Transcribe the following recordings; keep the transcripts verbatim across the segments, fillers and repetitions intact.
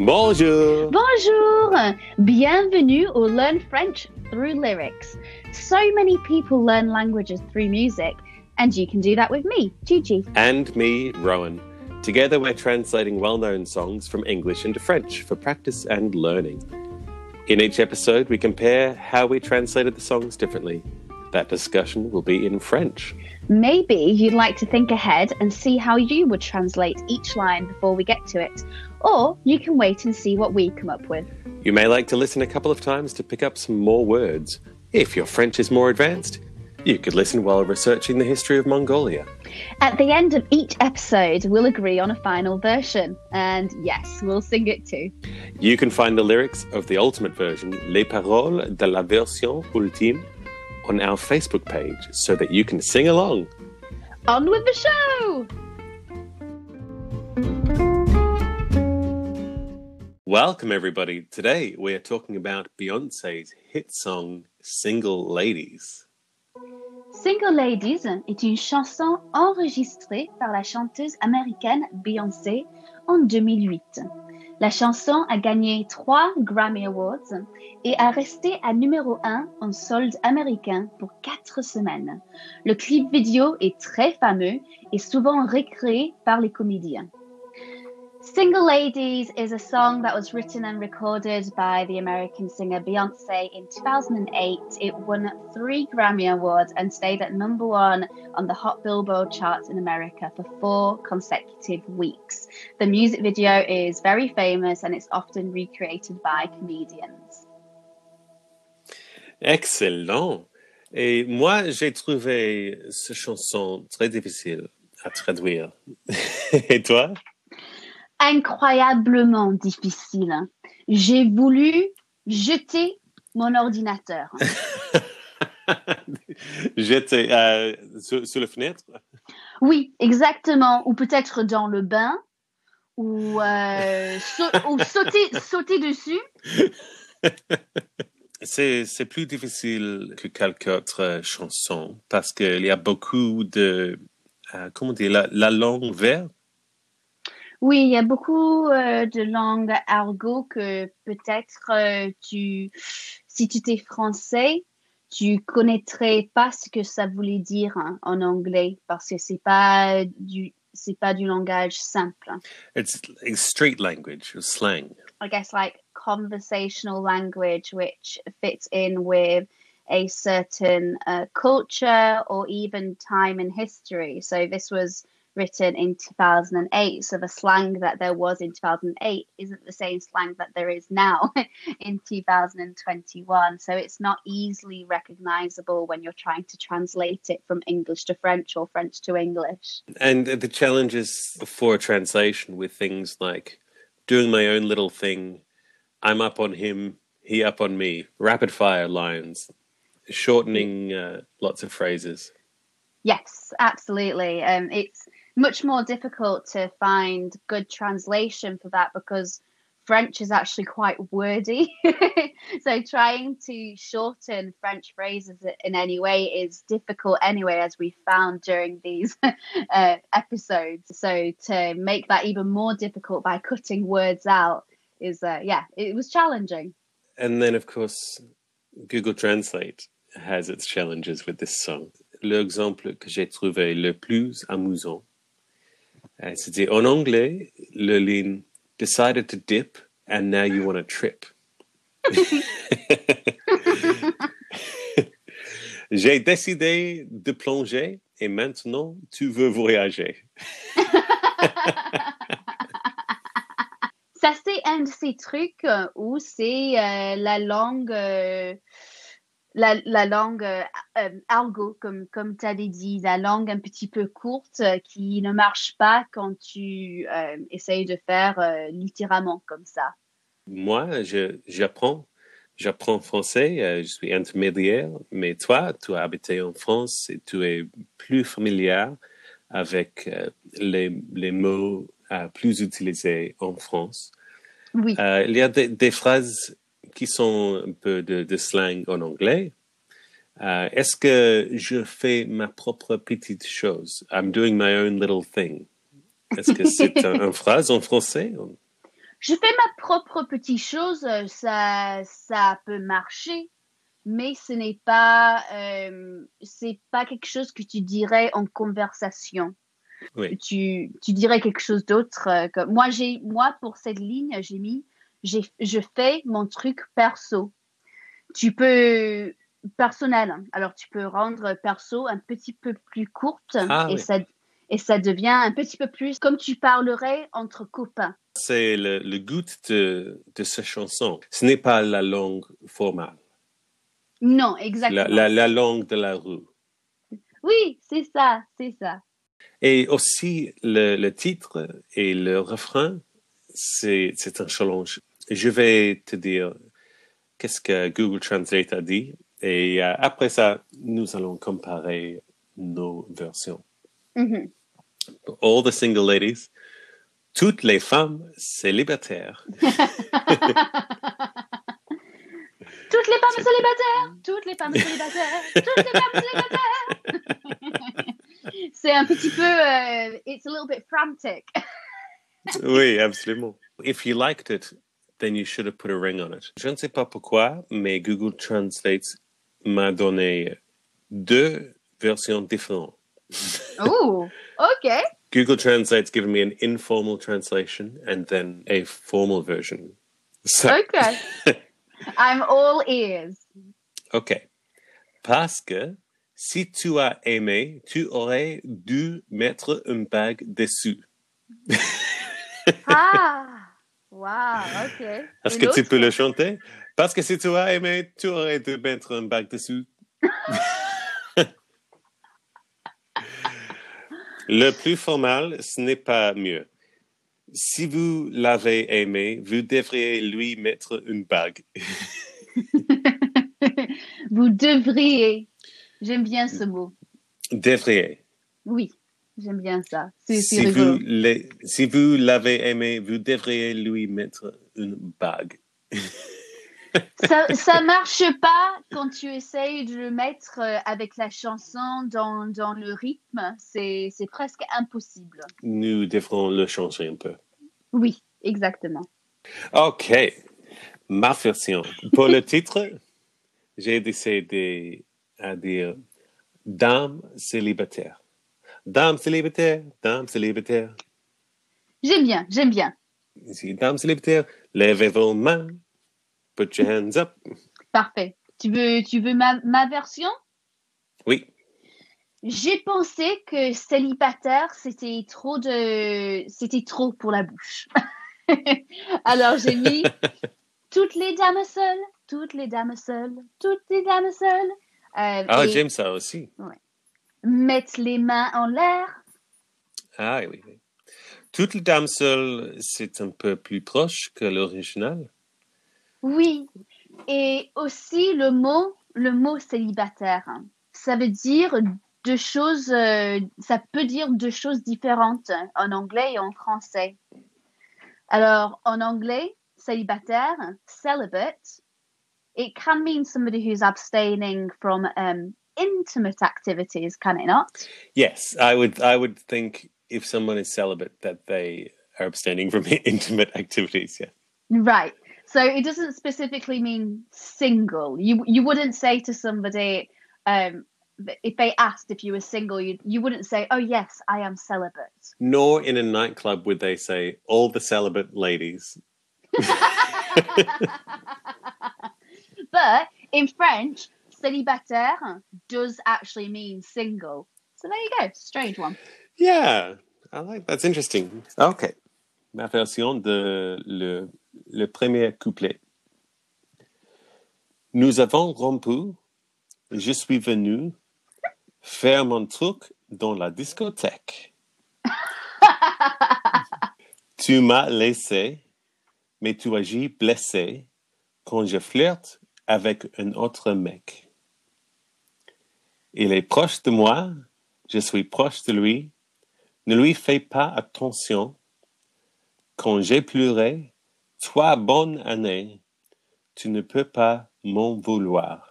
Bonjour! Bonjour! Bienvenue au Learn French Through Lyrics. So many people learn languages through music, and you can do that with me, Gigi. And me, Rowan. Together we're translating well-known songs from English into French for practice and learning. In each episode, we compare how we translated the songs differently. That discussion will be in French. Maybe you'd like to think ahead and see how you would translate each line before we get to it. Or you can wait and see what we come up with. You may like to listen a couple of times to pick up some more words. If your French is more advanced, you could listen while researching the history of Mongolia. At the end of each episode, we'll agree on a final version. And yes, we'll sing it too. You can find the lyrics of the ultimate version, Les Paroles de la Version Ultime, on our Facebook page so that you can sing along. On with the show! Welcome, everybody. Today we are talking about Beyoncé's hit song, Single Ladies. Single Ladies est une chanson enregistrée par la chanteuse américaine Beyoncé en deux mille huit. La chanson a gagné trois Grammy Awards et a resté à numéro un en solde américain pour quatre semaines. Le clip vidéo est très fameux et souvent recréé par les comédiens. Single Ladies is a song that was written and recorded by the American singer Beyoncé in two thousand eight. It won three Grammy Awards and stayed at number one on the Hot Billboard charts in America for four consecutive weeks. The music video is very famous and it's often recreated by comedians. Excellent! Et moi, j'ai trouvé cette chanson très difficile à traduire. Et toi? Incroyablement difficile. J'ai voulu jeter mon ordinateur. Jeter euh, sur, sur la fenêtre? Oui, exactement. Ou peut-être dans le bain. Ou, euh, sa- ou sauter, sauter dessus. C'est, c'est plus difficile que quelques autres chansons parce qu'il y a beaucoup de... Euh, comment dire? La, la langue verte. Oui, il y a beaucoup euh, de langues argot que peut-être euh, tu, si tu étais français, tu connaîtrais pas ce que ça voulait dire hein, en anglais parce que c'est pas du, c'est pas du langage simple. It's like street language or slang. I guess like conversational language which fits in with a certain uh, culture or even time in history. So this was written in two thousand eight. So the slang that there was in two thousand eight isn't the same slang that there is now in two thousand twenty-one. So it's not easily recognizable when you're trying to translate it from English to French or French to English. And the challenges for translation with things like doing my own little thing, I'm up on him, he up on me, rapid fire lines, shortening uh, lots of phrases. Yes, absolutely. Um, it's much more difficult to find good translation for that because French is actually quite wordy. So trying to shorten French phrases in any way is difficult anyway, as we found during these uh, episodes. So to make that even more difficult by cutting words out is, uh, yeah, it was challenging. And then, of course, Google Translate has its challenges with this song. L'exemple que j'ai trouvé le plus amusant, euh, c'était en anglais, le ligne decided to dip and now you want to trip. J'ai décidé de plonger et maintenant tu veux voyager. Ça, c'est un de ces trucs euh, où c'est euh, la langue... euh, La, la langue euh, euh, argot, comme, comme tu avais dit, la langue un petit peu courte euh, qui ne marche pas quand tu euh, essayes de faire euh, littéralement comme ça. Moi, je, j'apprends, j'apprends français, euh, je suis intermédiaire, mais toi, tu as habité en France et tu es plus familier avec euh, les, les mots euh, plus utilisés en France. Oui. Euh, il y a des, des phrases qui sont un peu de, de slang en anglais. Uh, est-ce que je fais ma propre petite chose? I'm doing my own little thing. Est-ce que c'est un, une phrase en français? Je fais ma propre petite chose, euh, ça, ça peut marcher, mais ce n'est pas, euh, c'est pas quelque chose que tu dirais en conversation. Oui. Tu, tu dirais quelque chose d'autre. euh, que- Moi, j'ai, moi, pour cette ligne, j'ai mis, j'ai, je fais mon truc perso. Tu peux, personnel. hein. Alors, tu peux rendre perso un petit peu plus courte Ah et oui. ça, et ça devient un petit peu plus comme tu parlerais entre copains. C'est le, le goût de, de cette chanson. Ce n'est pas la langue formale, Non, la, exactement. la, la langue de la rue. Oui, c'est ça, c'est ça. Et aussi, le, le titre et le refrain, c'est, c'est un challenge. Je vais te dire qu'est-ce que Google Translate a dit. Et euh, après ça, nous allons comparer nos versions. Mhm. All the single ladies, toutes les femmes célibataires. Toutes les femmes C'est- célibataires, toutes les femmes célibataires, toutes les femmes célibataires. C'est un petit peu, euh, it's a little bit frantic. Oui, absolument. If you liked it, then you should have put a ring on it. Je ne sais pas pourquoi, mais Google Translate m'a donné deux versions différentes. Oh, okay. Google Translate's given me an informal translation and then a formal version. So, Okay. I'm all ears. OK. Parce que si tu as aimé, tu aurais dû mettre une bague dessus. Ah, wow, okay. Est-ce Une que tu autre? peux le chanter? Parce que si tu as aimé, tu aurais dû mettre une bague dessus. Le plus formal, ce n'est pas mieux. Si vous l'avez aimé, vous devriez lui mettre une bague. Vous devriez. J'aime bien ce mot. Devriez. Oui, j'aime bien ça. C'est, c'est Si vous, rigolo. l'ai- si vous l'avez aimé, vous devriez lui mettre une bague. Ça, ça marche pas quand tu essayes de le mettre euh, avec la chanson dans, dans le rythme. C'est, c'est presque impossible. Nous devrons le changer un peu. Oui, exactement. OK. Ma version. Pour le titre, j'ai décidé à dire Dame célibataire. Dame célibataire, dame célibataire. J'aime bien, j'aime bien. Ici, dame célibataire, levez vos mains. Put your hands up. Parfait. Tu veux, tu veux ma, ma version? Oui. J'ai pensé que célibataire, c'était trop de, c'était trop pour la bouche. Alors j'ai mis toutes les dames seules, toutes les dames seules, toutes les dames seules. Euh, Ah, et j'aime ça aussi. ouais. Mettre les mains en l'air. Ah, oui, oui. Toutes les dames seules, c'est un peu plus proche que l'original. Oui. Et aussi le mot, le mot célibataire. Ça veut dire deux choses, euh, ça peut dire deux choses différentes en anglais et en français. Alors, en anglais, célibataire, celibate, it can mean somebody who's abstaining from um, intimate activities, can it not? Yes, I would. I would think if someone is celibate that they are abstaining from intimate activities. Yeah. Right. So it doesn't specifically mean single. You you wouldn't say to somebody, um, if they asked if you were single, you you wouldn't say, "Oh yes, I am celibate." Nor in a nightclub would they say all the celibate ladies. But in French, célibataire does actually mean single. So there you go. Strange one. Yeah, I like that's interesting. Okay, ma version de le le premier couplet. Nous avons rompu. Je suis venu faire mon truc dans la discothèque. Tu m'as laissé, mais tu agis blessé quand je flirte avec un autre mec. Il est proche de moi, je suis proche de lui. Ne lui fais pas attention. Quand j'ai pleuré, trois bonnes années, tu ne peux pas m'en vouloir.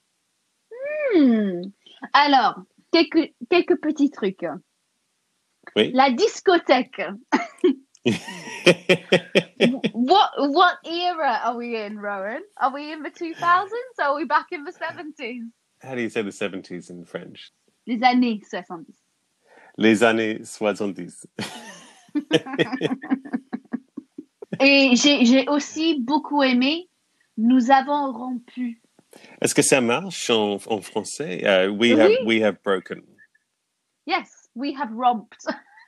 Hmm. Alors, quelques, quelques petits trucs. Oui. La discothèque. what what era are we in, Rowan? Are we in the two thousands or are we back in the seventies? How do you say the seventies in French? Les années soixante-dix. Les années soixante-dix. Et j'ai, j'ai aussi beaucoup aimé Nous avons rompu. Est-ce que ça marche en, en français? Uh, we, Oui. have, we have broken. Yes, we have romped.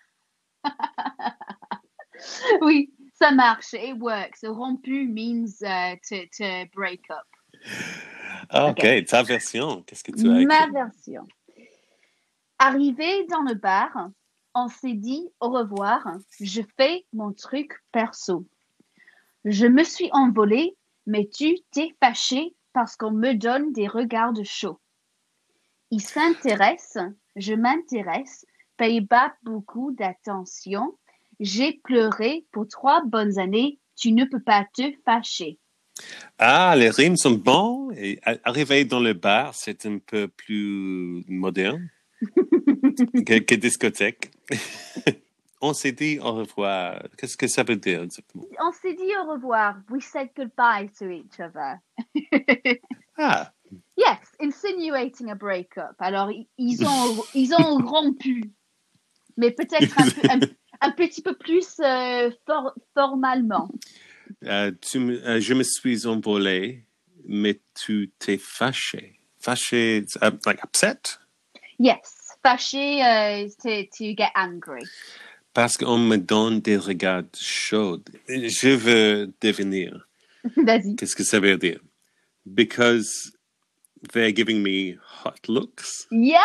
Oui, ça marche. It works. Rompu means uh, to, to break up. OK, Okay. Ta version, qu'est-ce que tu as écrit? Ma version. Arrivé dans le bar, on s'est dit au revoir. Je fais mon truc perso. Je me suis envolée, mais tu t'es fâché parce qu'on me donne des regards chauds. Il s'intéresse, je m'intéresse, paye pas beaucoup d'attention. J'ai pleuré pour trois bonnes années, tu ne peux pas te fâcher. Ah, les rimes sont bons. Et arriver dans le bar, c'est un peu plus moderne que, que discothèque. On s'est dit au revoir. Qu'est-ce que ça veut dire exactement? On s'est dit au revoir. We said goodbye to each other. Ah. Yes, insinuating a breakup. Alors, ils ont, ils ont rompu. Mais peut-être un, peu, un, un petit peu plus euh, for, formalement. Uh, tu me, uh, je me suis envolé, mais tu t'es fâché. Fâché, uh, like upset? Yes, fâché, uh, to, to get angry. Parce qu'on me donne des regards chauds. Je veux devenir. Vas-y. Qu'est-ce que ça veut dire? Because they're giving me hot looks. Yes!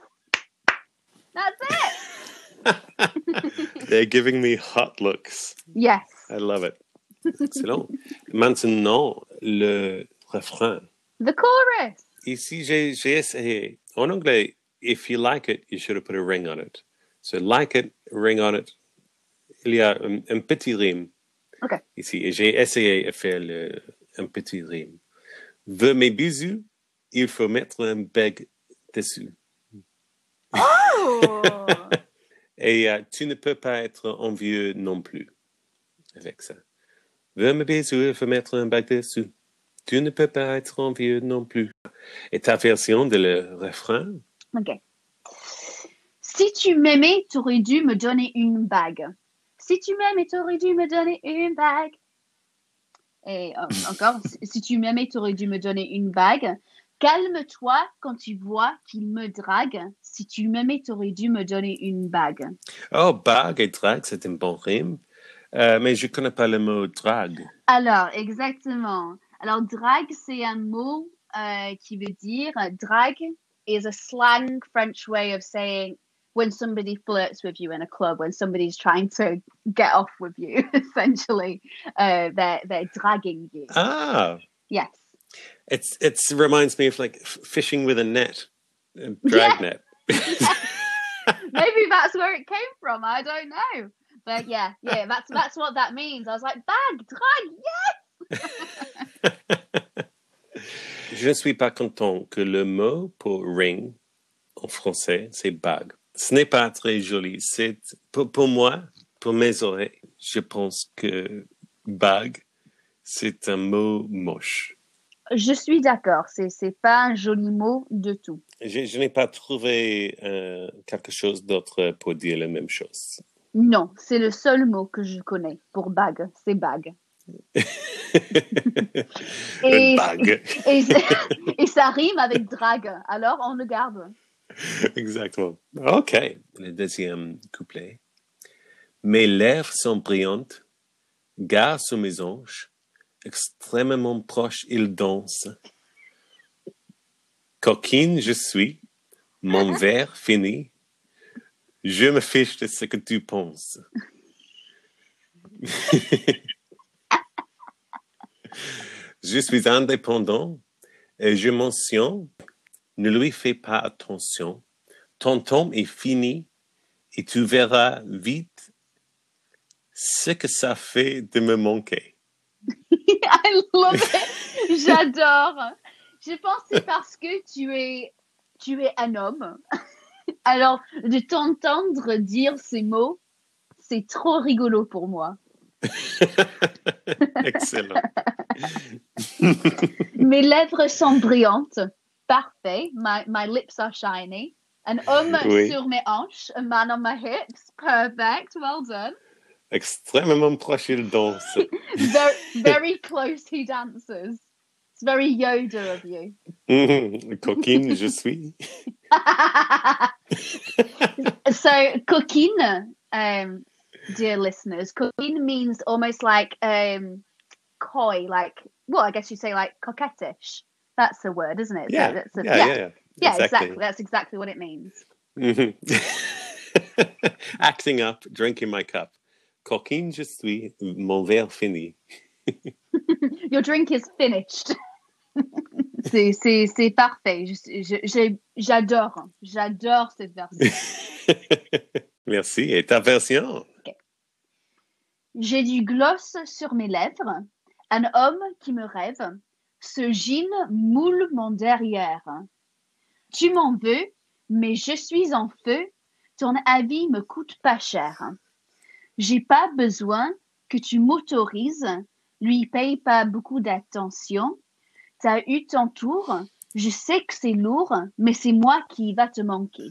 That's it! They're giving me hot looks. Yes. I love it. Excellent. Maintenant, le refrain. The chorus. Ici, j'ai, j'ai essayé. En anglais, if you like it, you should have put a ring on it. So, like it, ring on it. Il y a un, un petit rime. OK. Ici, et j'ai essayé de faire le, un petit rime. Veux mes bisous, il faut mettre un bec dessus. Oh! Et uh, tu ne peux pas être envieux non plus avec ça. Veux mes bisous, il faut mettre un bec dessus. Tu ne peux pas être envieux non plus. Et ta version de le refrain? OK. Si tu m'aimais, t'aurais dû me donner une bague. Si tu m'aimais, t'aurais dû me donner une bague. Et euh, encore, si, si tu m'aimais, t'aurais dû me donner une bague. Calme-toi quand tu vois qu'il me drague. Si tu m'aimais, t'aurais dû me donner une bague. Oh, bague et drague, c'est un bon rime. Euh, mais je ne connais pas le mot drague. Alors, exactement. Alors, drague, c'est un mot euh, qui veut dire... Drague is a slang French way of saying when somebody flirts with you in a club, when somebody's trying to get off with you, essentially. Uh, they're, they're dragging you. Ah. Yes. It's it's reminds me of like f- fishing with a net, a drag Yeah. net. Maybe that's where it came from. I don't know. But yeah, yeah, that's that's what that means. I was like, bag, drag, yes! Je ne suis pas content que le mot pour ring en français, c'est bague. Ce n'est pas très joli. C'est pour, pour moi, pour mes oreilles, je pense que bague, c'est un mot moche. Je suis d'accord. C'est c'est pas un joli mot de tout. Je, je n'ai pas trouvé euh, quelque chose d'autre pour dire la même chose. Non, c'est le seul mot que je connais pour bague. C'est bague. Une bague. Et, et ça rime avec drague. Alors, on le garde. Exactement. OK. Le deuxième couplet. Mes lèvres sont brillantes, gare sous mes hanches, extrêmement proche, il danse. Coquine je suis, mon verre fini, je me fiche de ce que tu penses. Je suis indépendant et je mentionne, ne lui fais pas attention. Ton temps est fini et tu verras vite ce que ça fait de me manquer. I love it. J'adore. Je pense que c'est parce que tu es, tu es un homme. Alors, de t'entendre dire ces mots, c'est trop rigolo pour moi. Excellent. Mes lèvres sont brillantes. Parfait. My, my lips are shiny. An homme Oui. sur mes hanches. A man on my hips. Perfect. Well done. Extrêmement proche, il danse. very, very close he dances. It's very Yoda of you. Coquine, je suis. So, coquine, um, dear listeners, coquine means almost like um, coy, like, well, I guess you say like coquettish. That's the word, isn't it? Yeah, So that's a, yeah, yeah, yeah, yeah. yeah, Exactly. exactly. That's exactly what it means. Acting up, drinking my cup. Coquine, je suis, mon verre fini. Your drink is finished. c'est, c'est, c'est parfait. Je, je, je, j'adore. J'adore cette version. Merci. Et ta version? Okay. J'ai du gloss sur mes lèvres. Un homme qui me rêve. Ce jean moule mon derrière. Tu m'en veux, mais je suis en feu. Ton avis me coûte pas cher. J'ai pas besoin que tu m'autorises. Lui paye pas beaucoup d'attention. T'as eu ton tour. Je sais que c'est lourd, mais c'est moi qui va te manquer.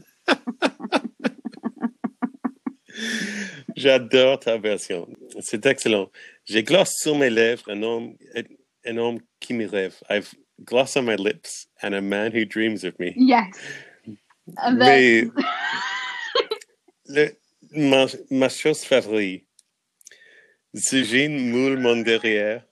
J'adore ta version. C'est excellent. J'ai gloss sur mes lèvres, un homme, un homme qui me rêve. I've gloss on my lips and a man who dreams of me. Yes. And Mais then... le, ma, ma chose favorite, ce jean moule mon derrière.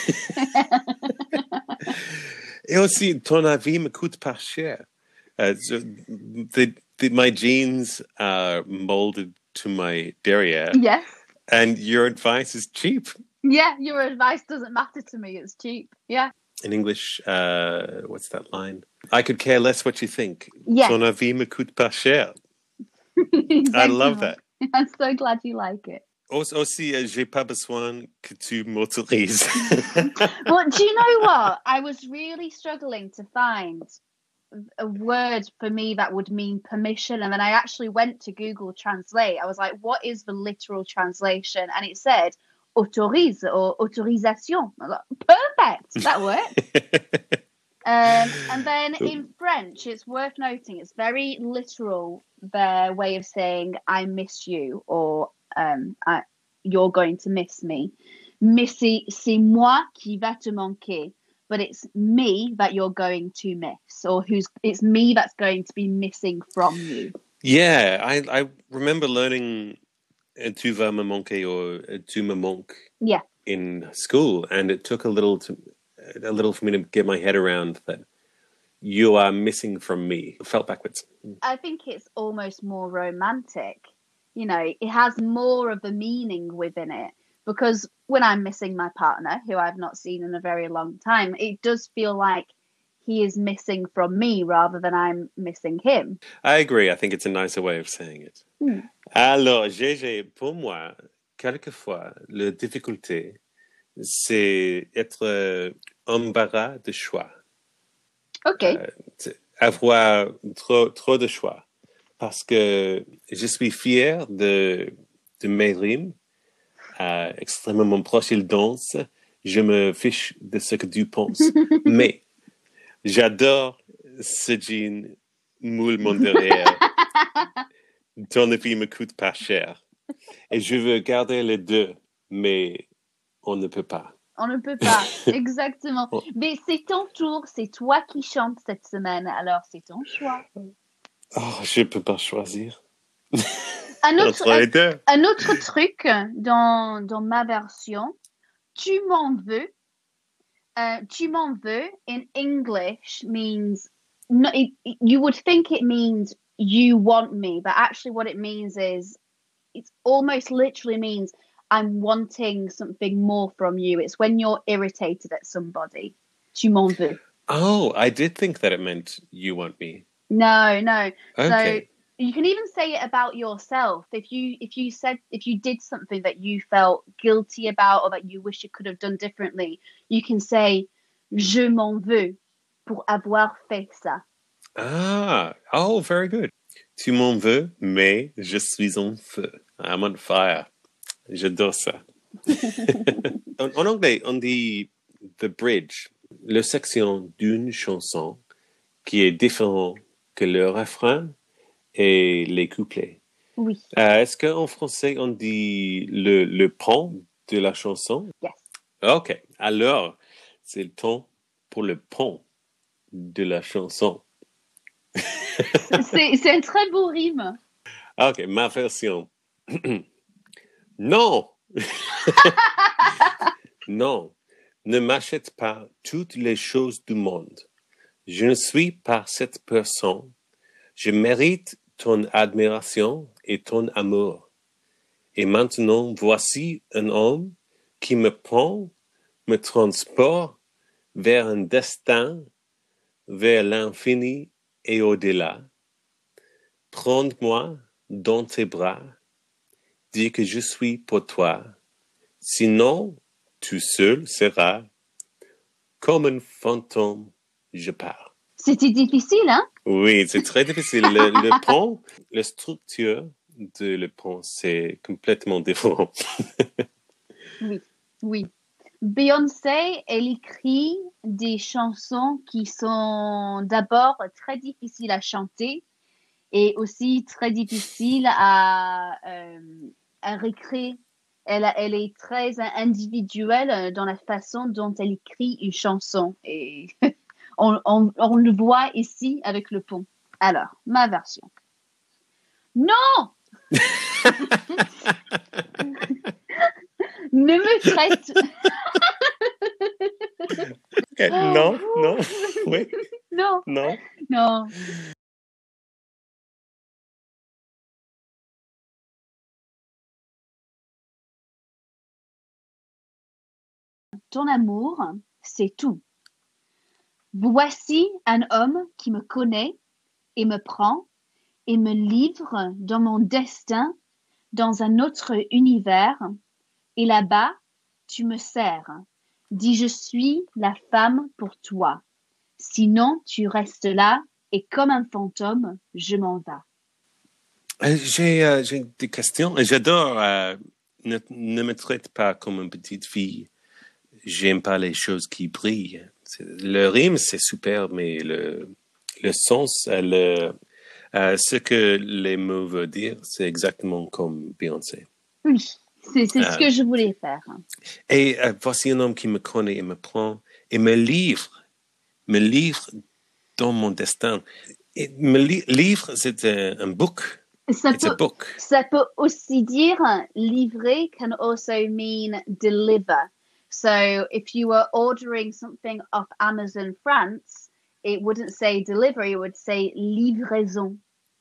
Et aussi, ton avis me coûte pas cher. Uh, so the, the, my jeans are molded to my derrière. Yes. And your advice is cheap. Yeah, your advice doesn't matter to me. It's cheap. Yeah. In English, uh, what's that line? I could care less what you think. Yes. Ton avis me coûte pas cher. Exactement. I love that. I'm so glad you like it. Aussi, uh, j'ai pas besoin que tu m'autorises. Well, do you know what? I was really struggling to find a word for me that would mean permission, and then I actually went to Google Translate. I was like, what is the literal translation? And it said autorise or autorisation. I was like, perfect, that worked. um, and then in French, it's worth noting, it's very literal, their way of saying I miss you, or um, I, you're going to miss me. Mais c'est, c'est moi qui va te manquer. But it's me that you're going to miss, or who's it's me that's going to be missing from you. Yeah, I, I remember learning uh, tu vas me manquer or uh, tu me manques yeah. in school, and it took a little to, a little for me to get my head around that you are missing from me. It felt backwards. I think it's almost more romantic. You know, it has more of a meaning within it. Because when I'm missing my partner, who I've not seen in a very long time, it does feel like he is missing from me rather than I'm missing him. I agree. I think it's a nicer way of saying it. Hmm. Alors, Gégé, pour moi, quelquefois, la difficulté, c'est être embarras de choix. OK. Euh, avoir trop, trop de choix. Parce que je suis fier de, de mes rimes. Uh, extrêmement proche, il danse. Je me fiche de ce que tu penses. Mais j'adore ce jean moule mon derrière. Ton avis me coûte pas cher. Et je veux garder les deux, mais on ne peut pas. On ne peut pas, exactement. Mais c'est ton tour, c'est toi qui chantes cette semaine, alors c'est ton choix. Oh, je ne peux pas choisir. Un autre, un, un autre truc dans, dans ma version, tu m'en veux. Uh, tu m'en veux in English means, no, it, you would think it means you want me, but actually what it means is, it almost literally means I'm wanting something more from you. It's when you're irritated at somebody. Tu m'en veux. Oh, I did think that it meant you want me. No, no. Okay. So, you can even say it about yourself. If you if you said if you did something that you felt guilty about or that you wish you could have done differently, you can say je m'en veux pour avoir fait ça. Ah, oh, very good. Tu m'en veux, mais je suis en feu. I'm on fire. J'adore ça. en, en anglais, on dit the bridge, la section d'une chanson qui est différente que le refrain et les couplets. Oui. Euh, est-ce qu'en français, on dit le, le pont de la chanson? Yes. OK. Alors, c'est le temps pour le pont de la chanson. c'est, c'est un très beau rime. OK, ma version. Non! Non, ne m'achète pas toutes les choses du monde. Je ne suis pas cette personne. Je mérite ton admiration et ton amour. Et maintenant, voici un homme qui me prend, me transporte vers un destin, vers l'infini et au-delà. Prends-moi dans tes bras, dis que je suis pour toi. Sinon, tu seul seras comme un fantôme, je pars. C'était difficile, hein? Oui, c'est très difficile. Le, le pont, la structure de le pont, c'est complètement différent. Oui, oui. Beyoncé, elle écrit des chansons qui sont d'abord très difficiles à chanter et aussi très difficiles à, euh, à réécrire. Elle, elle est très individuelle dans la façon dont elle écrit une chanson. Et on, on, on le voit ici avec le pont. Alors, ma version. Non! Ne me traite... Okay. Non, non, oui. Non, non. Non. Ton amour, c'est tout. Voici un homme qui me connaît et me prend et me livre dans mon destin, dans un autre univers. Et là-bas, tu me sers. Dis, je suis la femme pour toi. Sinon, tu restes là et comme un fantôme, je m'en vais. Euh, j'ai, euh, j'ai des questions. J'adore. Euh, ne, ne me traite pas comme une petite fille. J'aime pas les choses qui brillent. C'est, le rime, c'est super, mais le, le sens, le, euh, ce que les mots veulent dire, c'est exactement comme Beyoncé. Oui, c'est, c'est euh, ce que je voulais faire. Et euh, voici un homme qui me connaît et me prend et me livre, me livre dans mon destin. Et me li- livre, c'est un, un book. Ça It's peut, a book. Ça peut aussi dire livrer can also mean deliver. So if you were ordering something off Amazon France, it wouldn't say delivery, it would say livraison.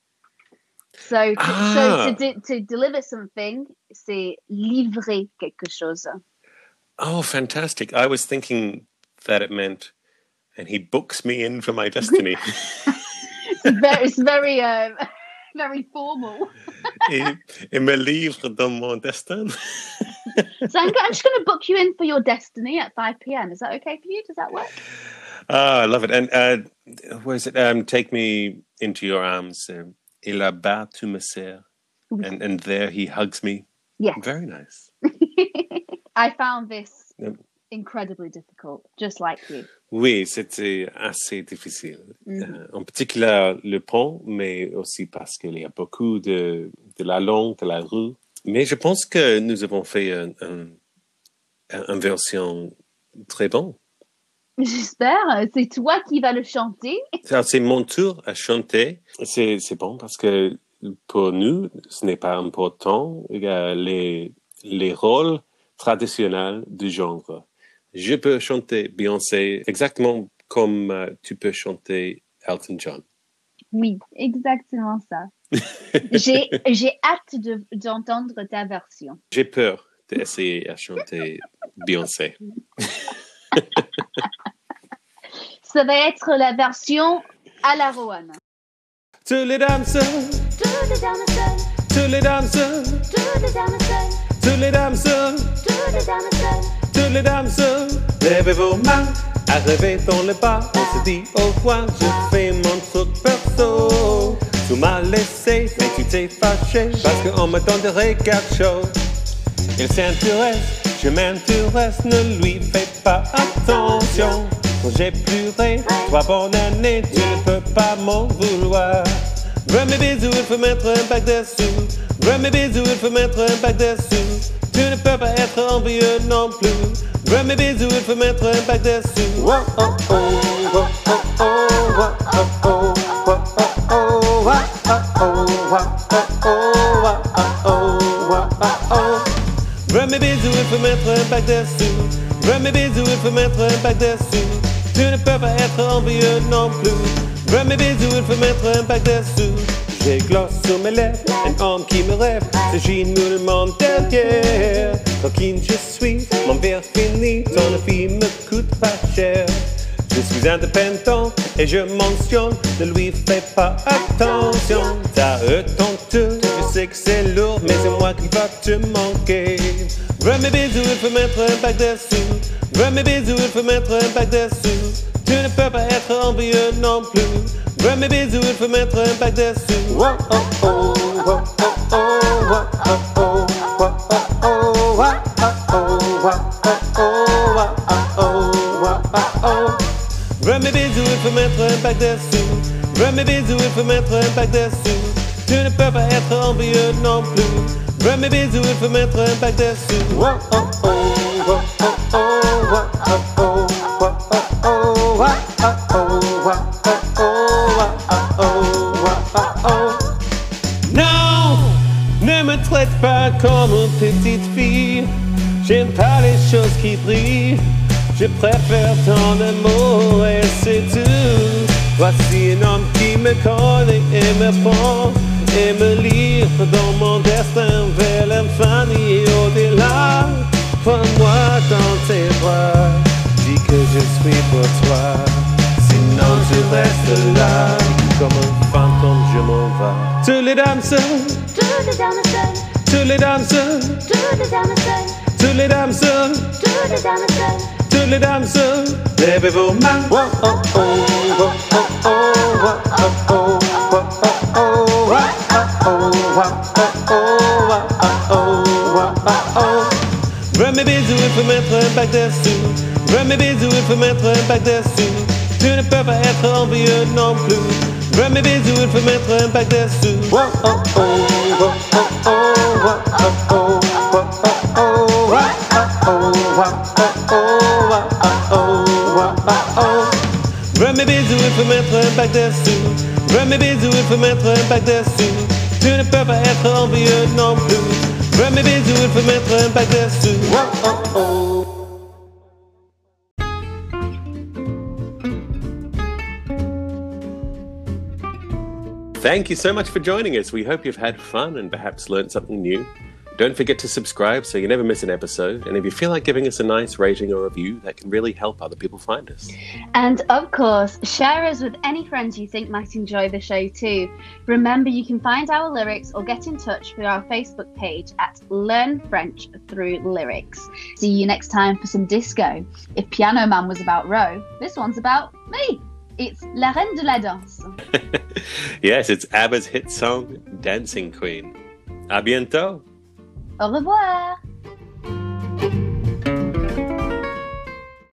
So to, ah. so to, de- to deliver something, c'est livrer quelque chose. Oh, fantastic. I was thinking that it meant, and he books me in for my destiny. it's very, it's very, um, very formal. et, et me livre dans mon destin. So I'm, I'm just going to book you in for your destiny at five p.m. Is that okay for you? Does that work? Ah, I love it. And uh, where is it? Um, take me into your arms. Um, et là-bas, tu me sers. Oui. And, and there he hugs me. Yes. Very nice. I found this Yep. incredibly difficult, just like you. Oui, c'était assez difficile. Mm-hmm. Euh, en particulier le pont, mais aussi parce qu'il y a beaucoup de, de la langue, de la rue. Mais je pense que nous avons fait une un, un version très bonne. J'espère. C'est toi qui vas le chanter. Alors, c'est mon tour à chanter. C'est, c'est bon parce que pour nous, ce n'est pas important euh, les, les rôles traditionnels du genre. Je peux chanter Beyoncé exactement comme euh, tu peux chanter Elton John. Oui, exactement ça. j'ai, j'ai hâte de, d'entendre ta version. J'ai peur d'essayer à chanter Beyoncé. Ça va être la version à la Roanne. Tous les danseurs, Tous les danseurs, tous les danseurs, tous les danseurs, tous les danseurs, tous les danseurs. tous les danseurs, levez vos mains, arrivez dans le bas, on se dit au revoir, je fais mon truc perso. Tu m'as laissé, mais tu t'es fâché, parce qu'on me donne des regards chauds. Il s'intéresse Je m'aime, tu restes, ne lui fais pas attention. Quand j'ai pleuré, trois bonnes années, tu ne peux pas m'en vouloir. Veux mes bisous, il faut mettre un bac dessous. Veux mes bisous, il faut mettre un bac dessous. Tu ne peux pas être envieux non plus. Veux mes bisous, il faut mettre un bac dessous. Oh oh oh, oh oh oh, oh oh oh, oh oh oh, oh oh oh. Veux mes bisous, il faut mettre un bac dessous. Veux mes bisous, il faut mettre un bac dessous. Tu ne peux pas être envieux non plus. Veux mes bisous, il faut mettre un bac dessous. J'ai gloss sur mes lèvres, un homme qui me rêve, c'est Ginoule derrière. Coquine je suis, mon verre fini, ton fille me coûte pas cher. Je suis indépendant et je mentionne, ne lui fais pas attention. T'as eux ton tout, je sais que c'est lourd, mais c'est moi qui va te manquer. Veux mes bisous, il faut mettre un bac dessous. Veux mes bisous, il faut mettre un bac dessous. Tu ne peux pas être envieux non plus. Veux mes bisous, il faut mettre un bac dessous. Oh oh oh, oh oh oh, oh oh oh, oh oh oh, oh oh oh. Veux mes bisous, il faut mettre un bac dessous. Veux mes bisous, il faut mettre un bac dessous. Tu ne peux pas être envieux non plus. Veux mes bisous, il faut mettre un bac dessous. Oh oh oh, oh oh oh, oh oh oh. Non, ne me traite pas comme une petite fille. J'aime pas les choses qui brillent. Je préfère ton amour et c'est tout. Voici un homme qui me connaît et me prend et me livre dans mon destin vers l'infini et au-delà. Prends-moi dans tes bras, dis que je suis pour toi. Sinon tu restes là, comme un fantôme je m'en vais. Tous les dames seules, Toutes les dames seules, tous les dames seules, toutes les dames seules, tous les dames seules, toutes les dames seules. toutes les dames seules, levez vos mains. Oh oh oh, oh oh oh, oh oh oh, oh oh oh. Veux mes bisous, il faut mettre un bac dessous. Veux mes bisous, il faut mettre un bac dessous. Tu ne peux pas être envieux non plus. Veux mes bisous, il faut mettre un bac dessous. Oh oh oh, oh oh oh, oh oh oh. Veux mes bisous, il faut mettre un bac dessous. Veux mes bisous, il faut mettre un bac dessous. Tu ne peux pas être envieux non plus. Veux mes bisous, il faut mettre un bac dessous. Oh oh oh. Thank you so much for joining us. We hope you've had fun and perhaps learned something new. Don't forget to subscribe so you never miss an episode. And if you feel like giving us a nice rating or review, that can really help other people find us. And of course, share us with any friends you think might enjoy the show too. Remember, you can find our lyrics or get in touch with our Facebook page at Learn French Through Lyrics. See you next time for some disco. If Piano Man was about Ro, this one's about me. It's La Reine de la Danse. Yes, it's ABBA's hit song, Dancing Queen. À bientôt. Au revoir.